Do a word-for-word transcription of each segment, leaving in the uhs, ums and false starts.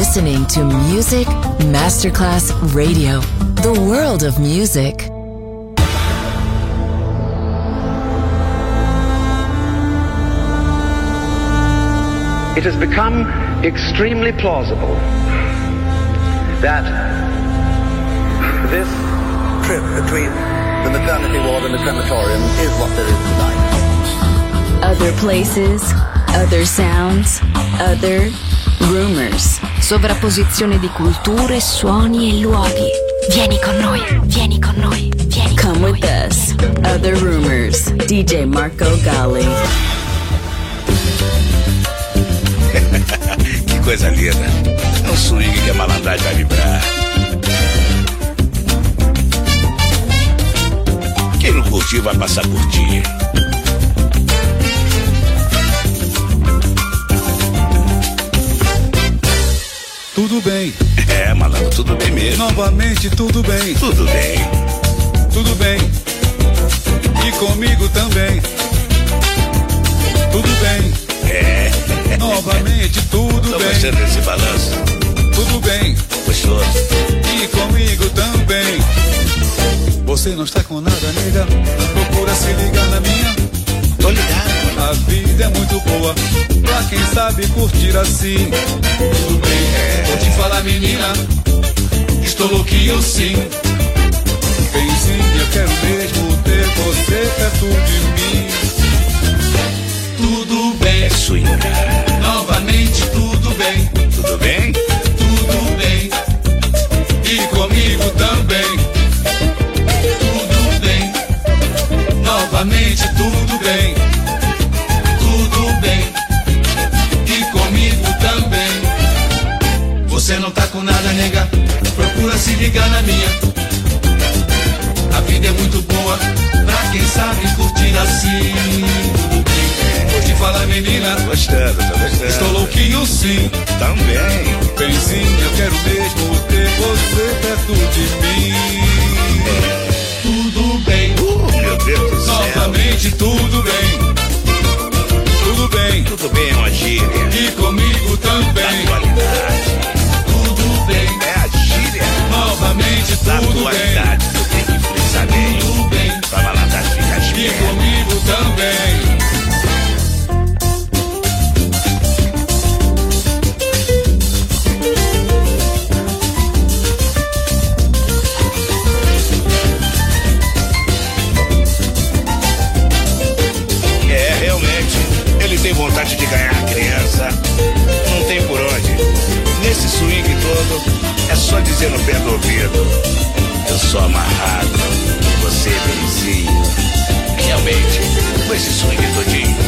listening to Music Masterclass Radio, the world of music. It has become extremely plausible that this trip between the maternity ward and the crematorium is what there is tonight. Other places, other sounds, other rumors. Sovrapposizione di culture, suoni e luoghi. Vieni con noi, vieni con noi, vieni con Come noi. with us. Other rumors. D J Marco Gally. Que coisa linda. É um swing que a malandragem vai vibrar. Quem não curtir vai passar a curtir. Tudo bem. É, malandro, tudo bem mesmo. Novamente, tudo bem. Tudo bem. Tudo bem. E comigo também. Tudo bem. É. Novamente, tudo Tô bem. gostando desse balanço. Tudo bem. Gostoso. E comigo também. Você não está com nada, nega. Procura se ligar na minha. Tô ligado. A vida é muito boa pra quem sabe curtir assim. Tudo bem, é. Vou te falar, menina, estou louquinho sim. Benzinha, quero mesmo ter você perto de mim. Tudo bem, É swing. novamente tudo bem. Tudo bem? Tudo bem, e comigo também. Tudo bem, novamente tudo bem. Tudo bem, e comigo também. Você não tá com nada, nega, procura se ligar na minha. A vida é muito boa pra quem sabe curtir assim. Tudo bem, vou te falar, menina, Gostando, tô gostando. estou louquinho sim. Também. Benzinho, eu quero mesmo ter você perto de mim. Tudo bem, Uh, meu Deus do céu. novamente tudo bem. Tudo bem, Tudo bem, é uma gíria. e comigo também. Atualidade. Tudo bem, É a gíria novamente da tudo bem. atualidade. Eu tenho que frisar bem. Tudo bem, Pra malandragem ficar e esperta. comigo também. É, realmente, ele tem vontade de ganhar a criança. Não tem por onde. Nesse swing todo, é só dizer no pé do ouvido: eu sou amarrado, você é benzinho. Realmente, com esse swing todinho.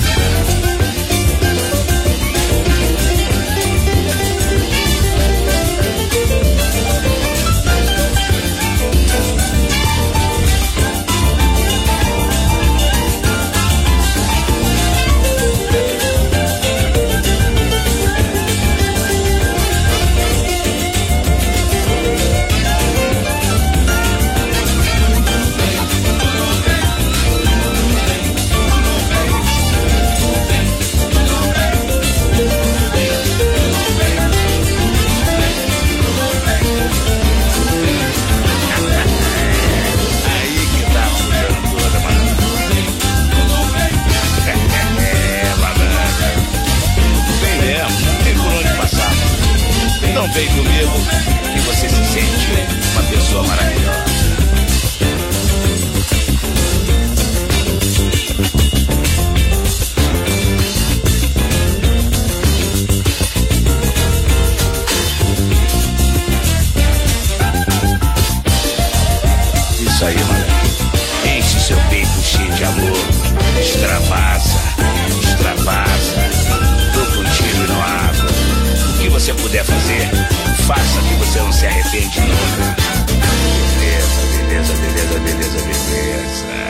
Aí que tá fudendo toda, mano. É, malandra. Vem mesmo, não tem por onde passar. Então vem comigo que você se sente uma pessoa maravilhosa. Isso aí, malandro. Enche seu peito cheio de amor. Extravasa, extravasa. Troca um tiro e não água. O que você puder fazer, faça que você não se arrepende nunca. Beleza, beleza, beleza, beleza, beleza.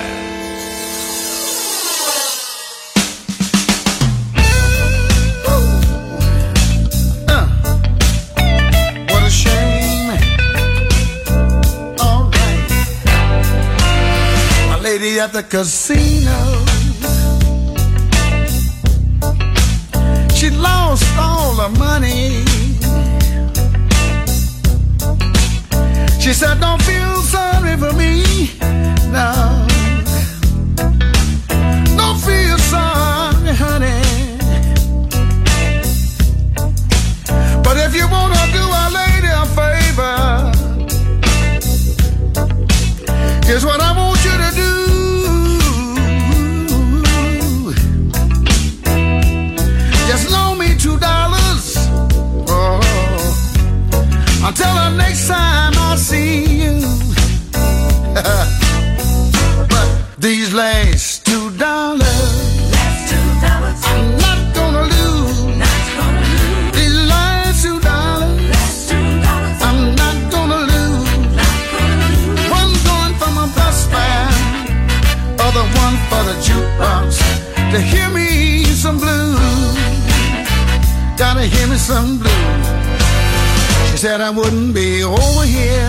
What a shame. All right. My lady at the casino, she lost lost all the money. She said, don't feel sorry for me, no. Don't feel sorry, honey. But if you wanna do a lady a favor, here's what I want you to do. Just loan me two dollars. Oh, until the next time I see you. But these last two dollars, last two dollars, I'm not gonna lose. Not gonna lose. These last two dollars, last two dollars, I'm not gonna lose. Not gonna lose. One going for my bus fare, other one for the jukebox to hear me some blues. Gotta hear me some blues. She said I wouldn't be over here.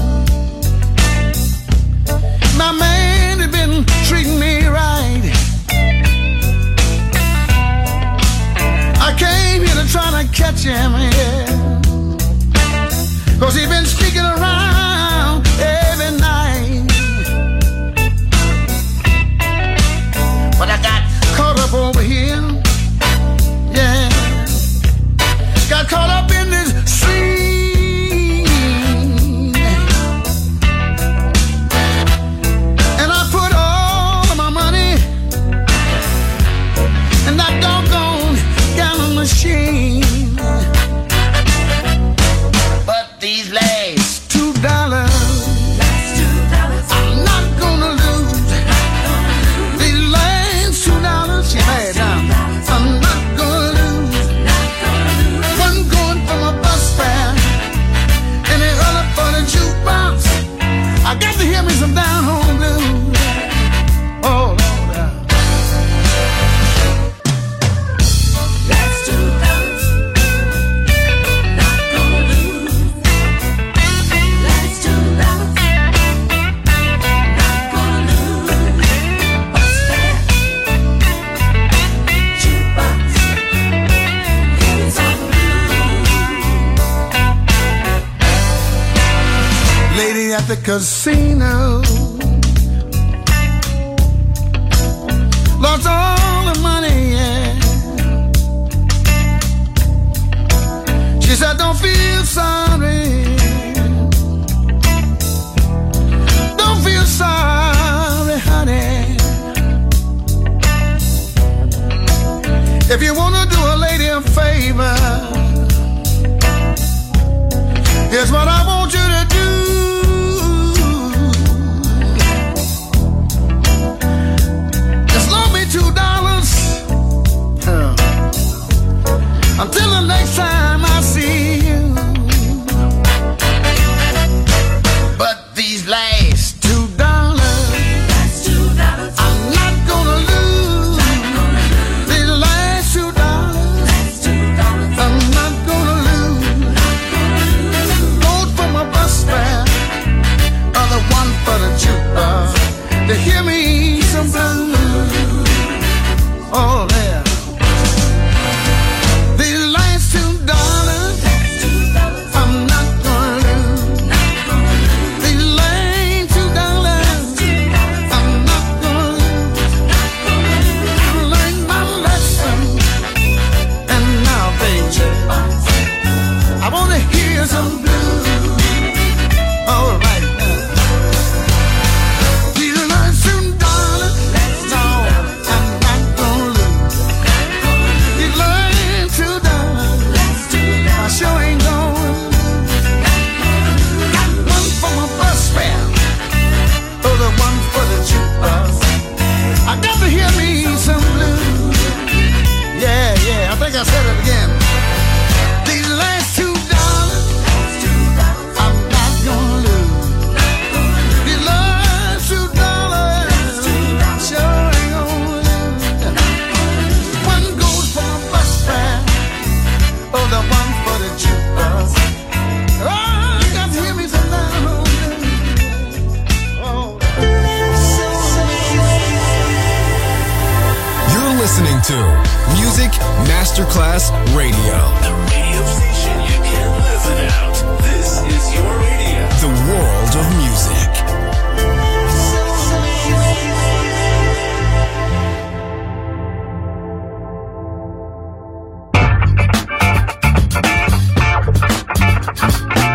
My man had been treating me right. I came here to try to catch him, yeah. Cause he been sneaking around every night. But I got caught up over here, yeah. Got caught up in this scene, and I put all of my money in that doggone gallon machine. But these last two dollars, last two dollars, I'm not gonna lose. These last two dollars, yeah, I'm not gonna lose. One going for my bus fare, and the other for the jukebox. I got to hear me some down home blues. Oh Lord, last two dollars, not gonna lose. Last two dollars, not gonna lose. Bus fare, jukebox, here is our lady at the casino lost all the money, yeah. She said, don't feel sorry. Don't feel sorry, honey. If you wanna do a lady a favor, here's what I want you to do. Just loan me two dollars uh, until the next time I see you.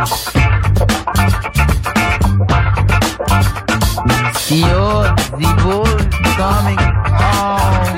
You're the bull coming home.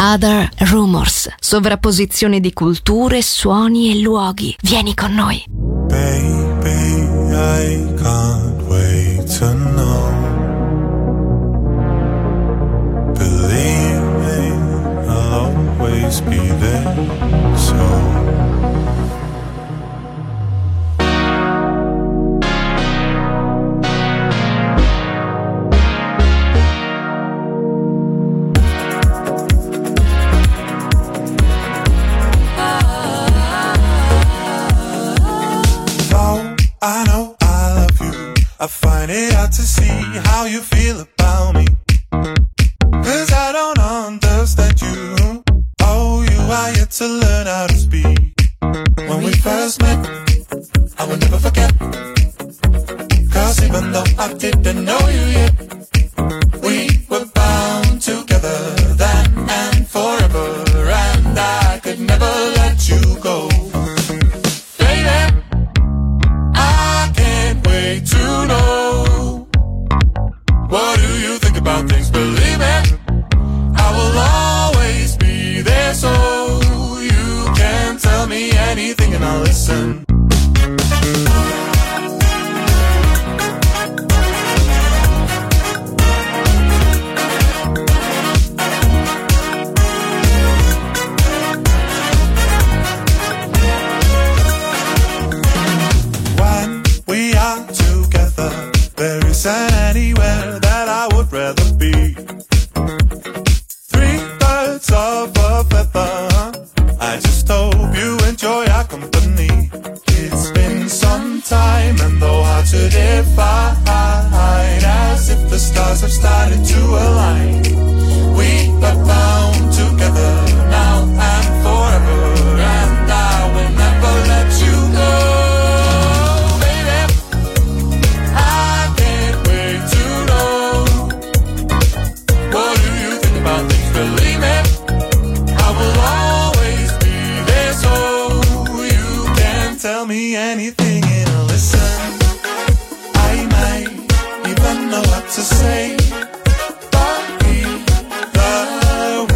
Other Rumors, sovrapposizione di culture, suoni e luoghi. Vieni con noi. Baby, I can't wait to know. Believe me, I'll always be there. So I know I love you. I find it hard to see how you feel about me. Cause I don't understand you. Oh, you are yet to learn how to speak. When we first met, I will never forget. Cause even though I didn't know you yet, we were bound together then and forever. And I could never let you go. To know, what do you think about things? Believe me, I will always be there, so you can tell me anything and I'll listen. When we are together, there isn't anywhere that I would rather be. Three birds of a feather, I just hope you enjoy our company. It's been some time and though hard to define, as if the stars have started to align. We are bound together now and forever, and I will never let you go. Believe me, I will always be there, so you can tell me anything and I'll listen. I might even know what to say, but either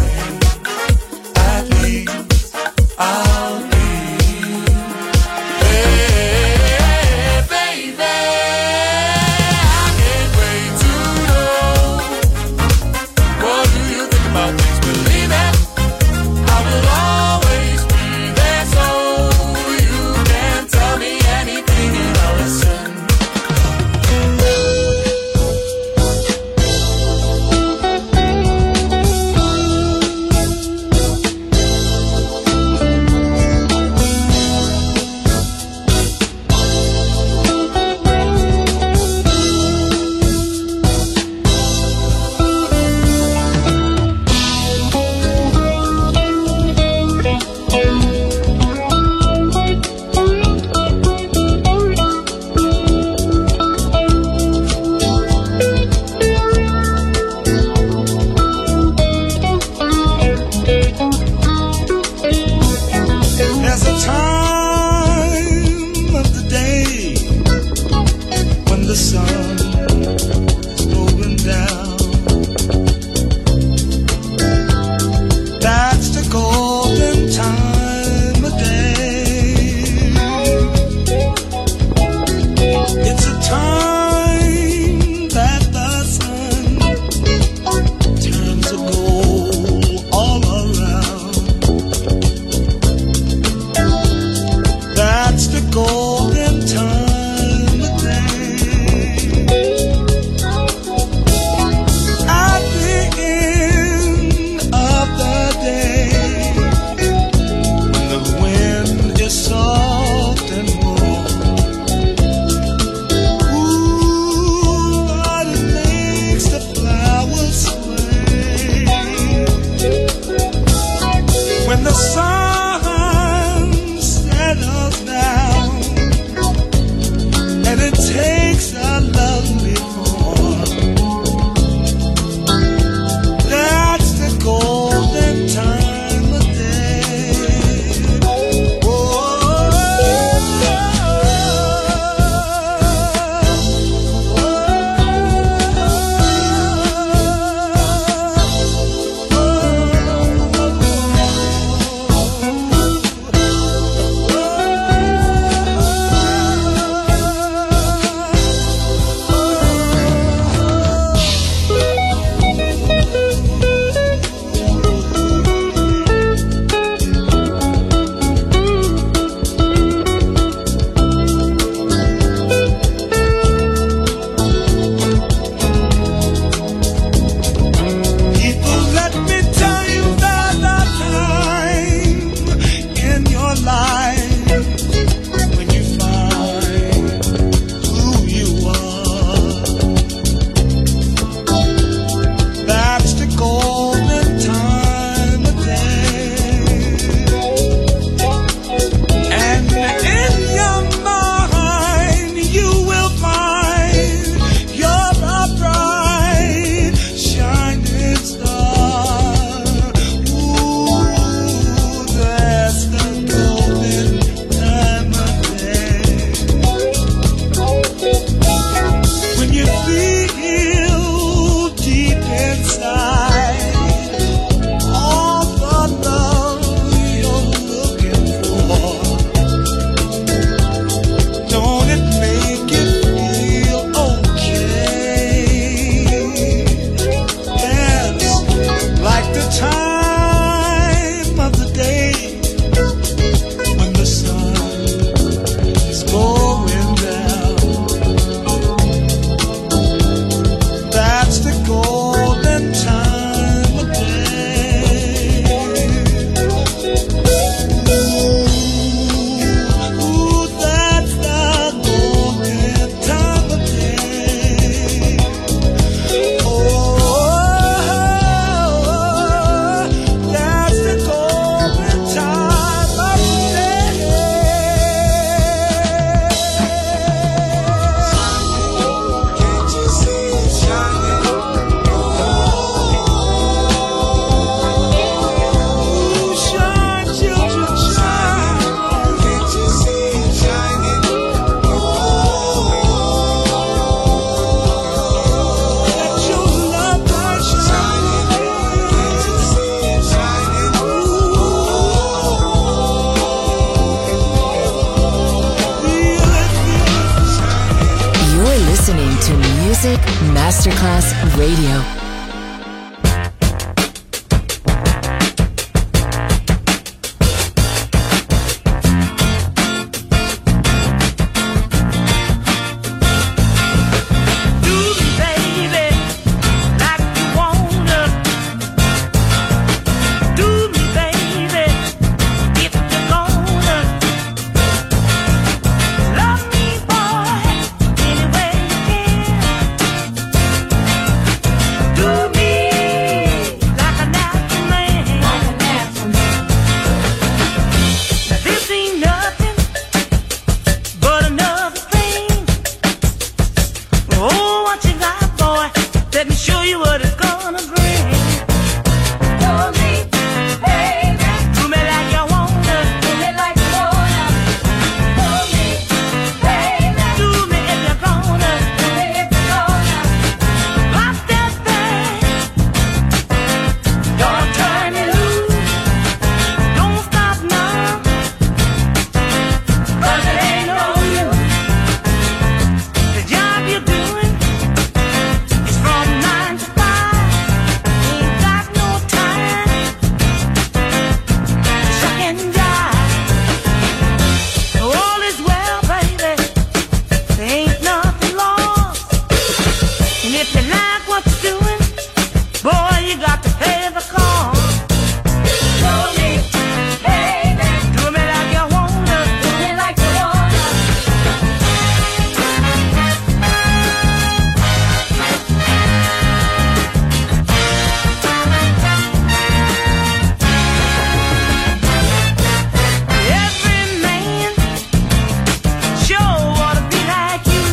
Radio.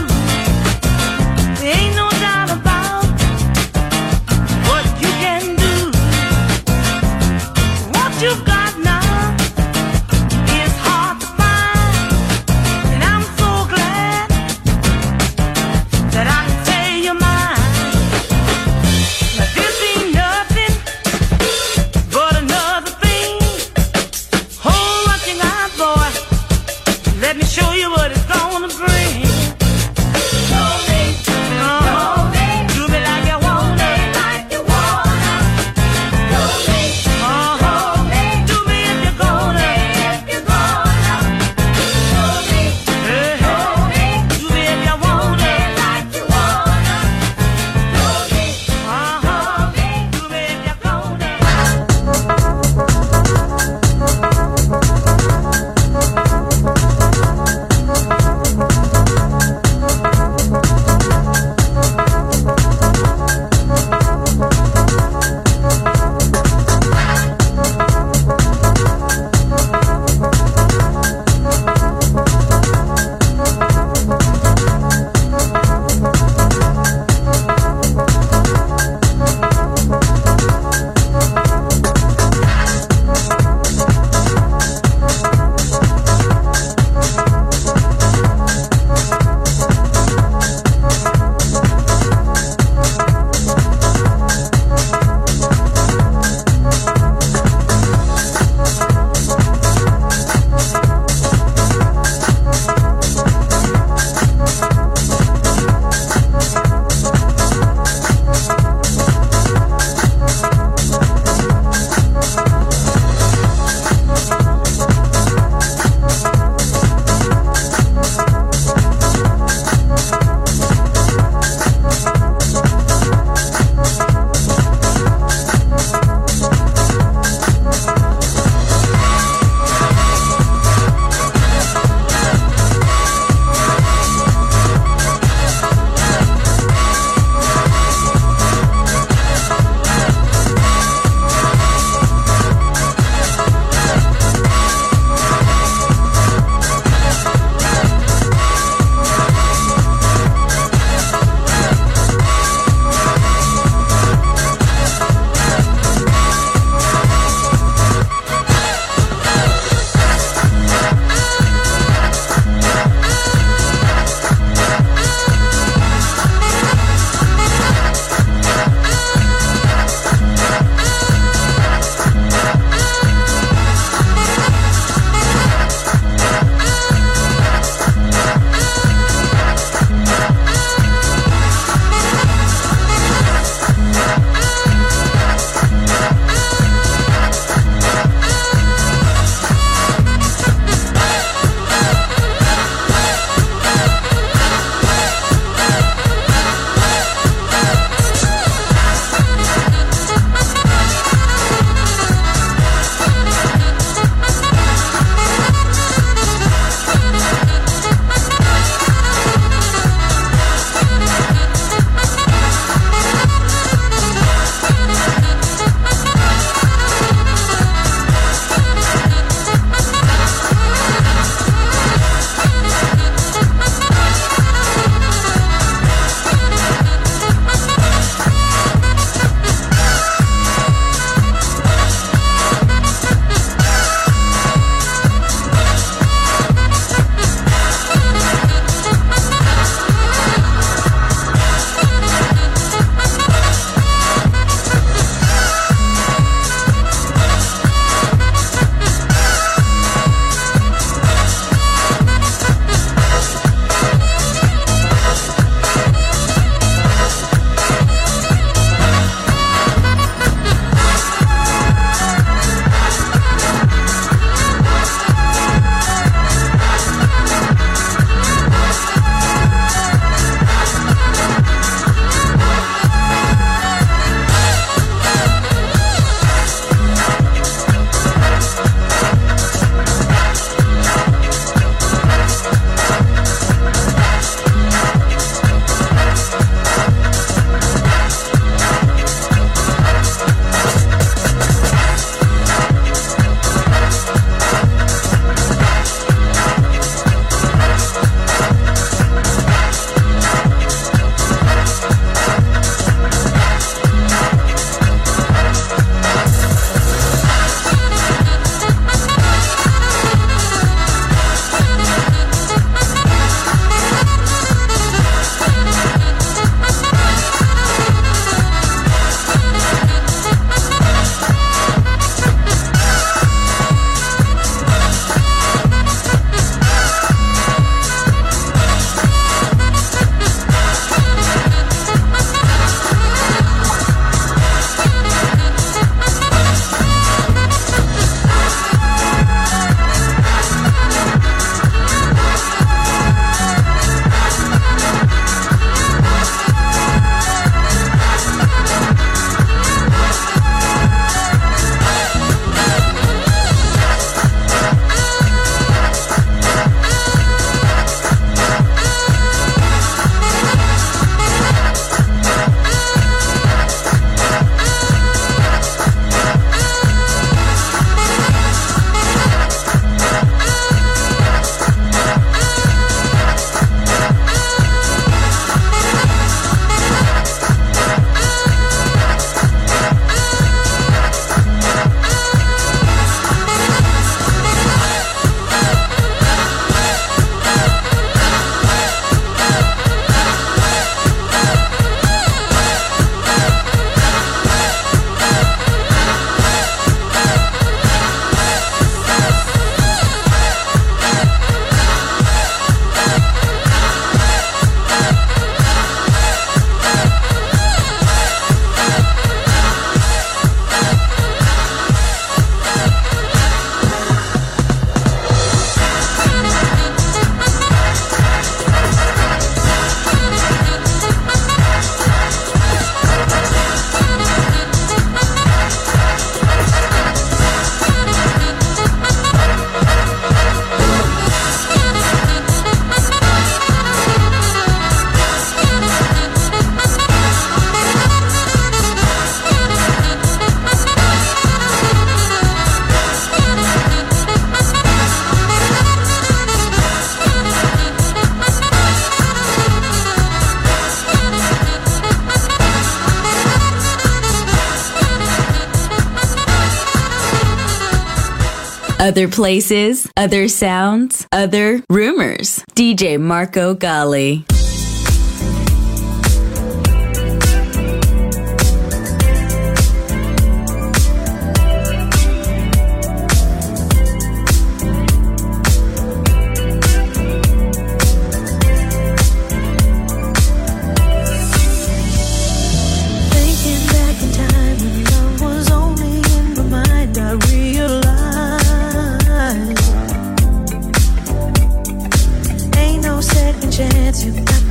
Ain't no doubt about what you can do. Other places, other sounds, other rumors. D J Marco Gally. Chance, you got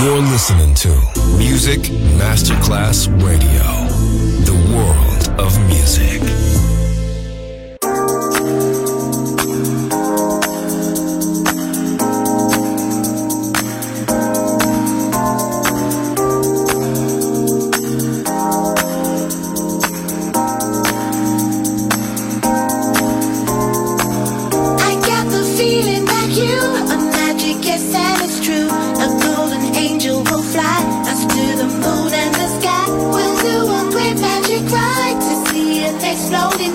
You're listening to Music Masterclass Radio, the world of music. Exploding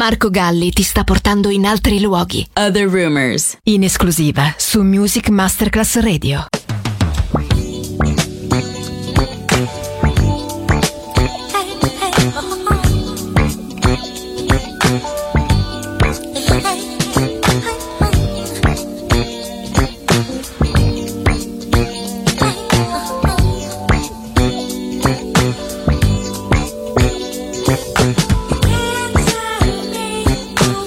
Marco Galli ti sta portando in altri luoghi. Other Rumors. In esclusiva su Music Masterclass Radio.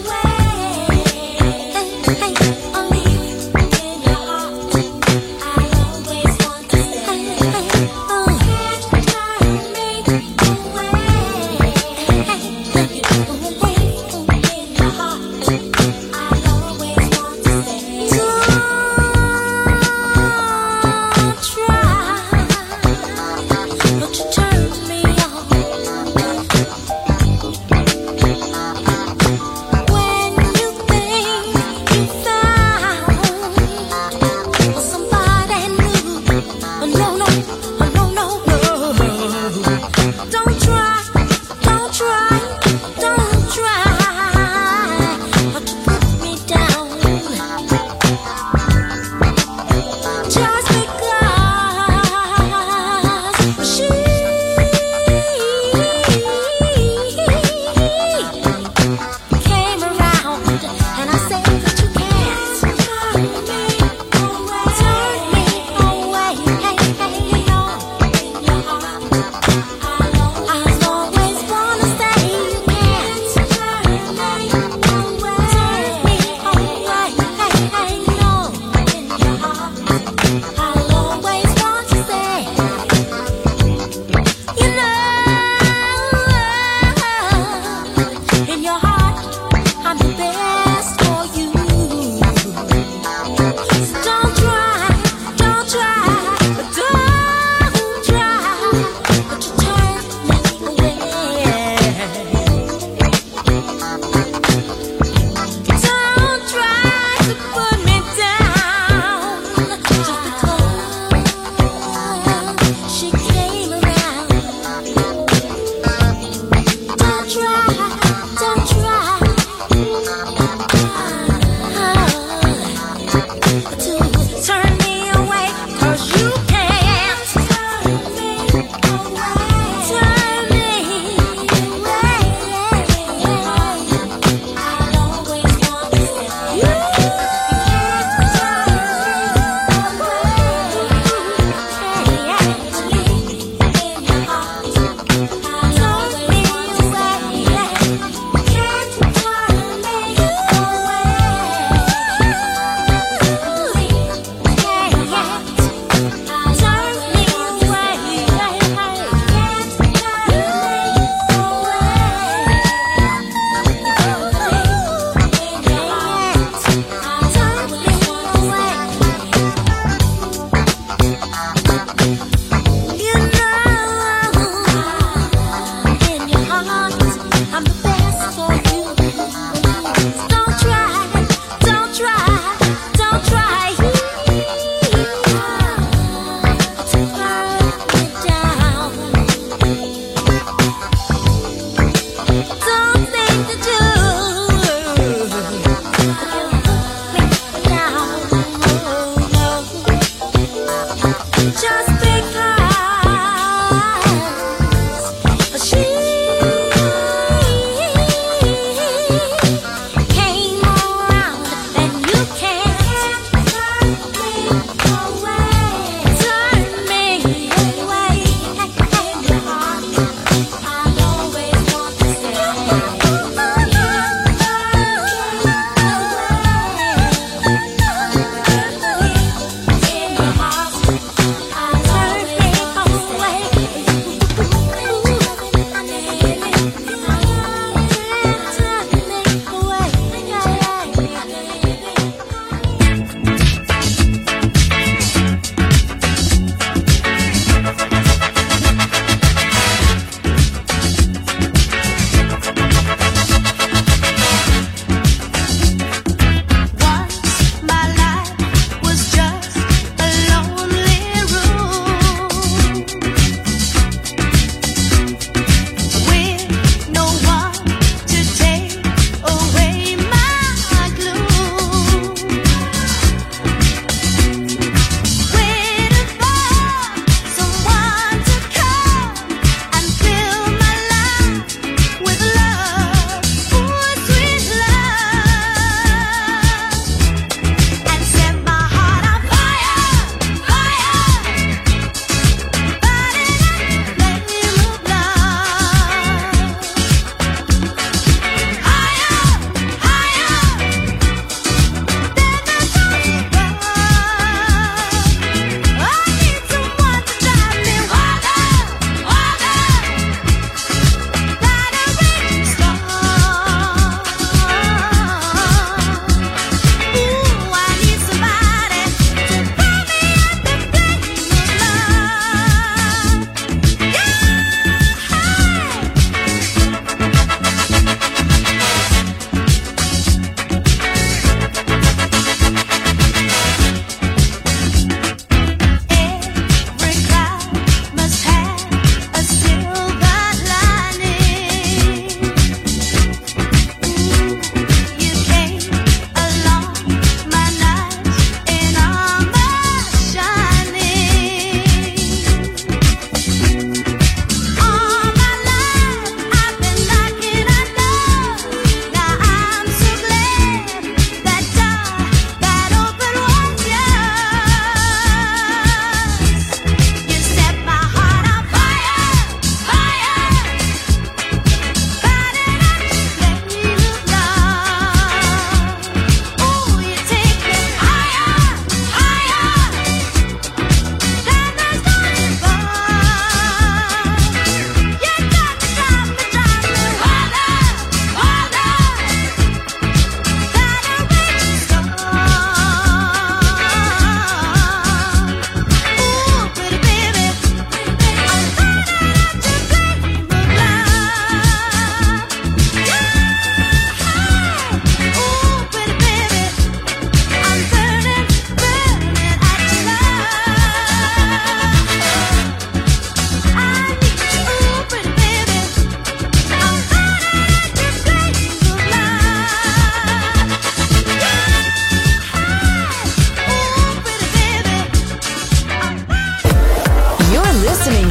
I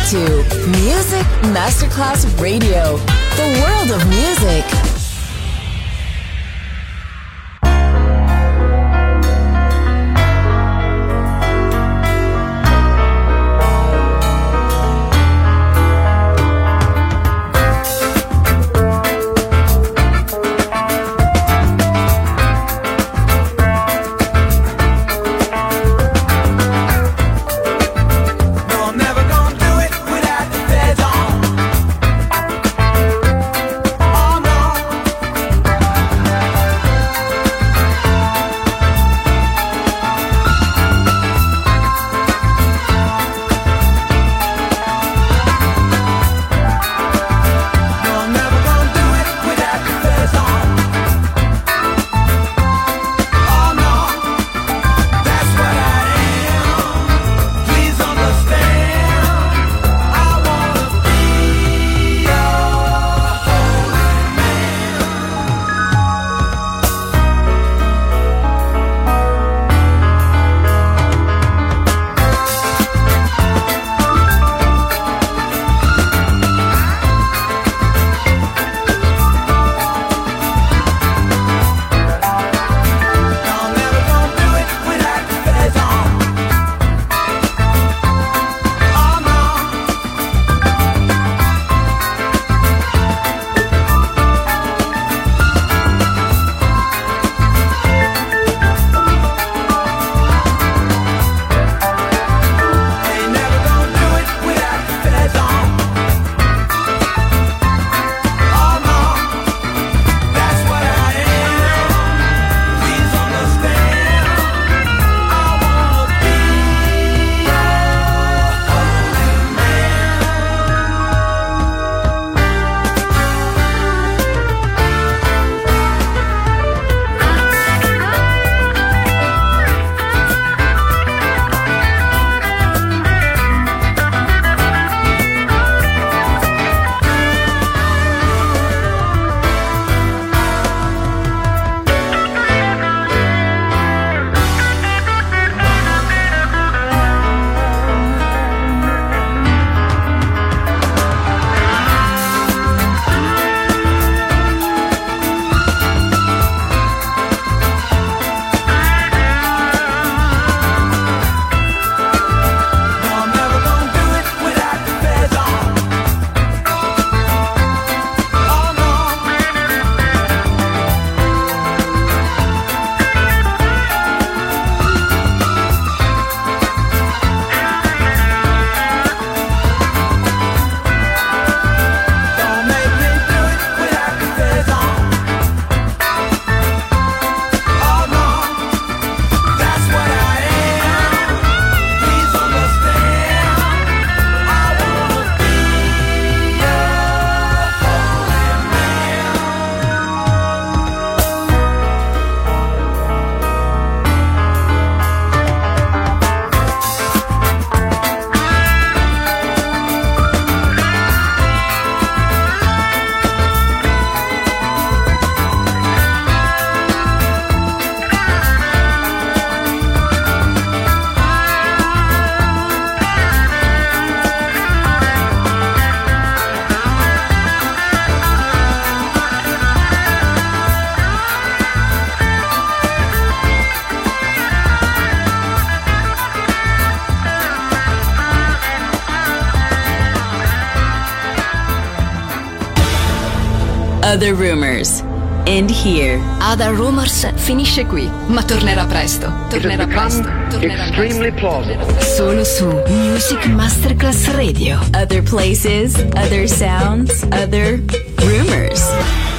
to Music Masterclass Radio, the world of music. Other Rumors. End here. Other Rumors finisce qui, ma tornerà presto. Tornerà presto. Tornerà extremely plausible. Solo su Music Masterclass Radio. Other places, other sounds, other rumors.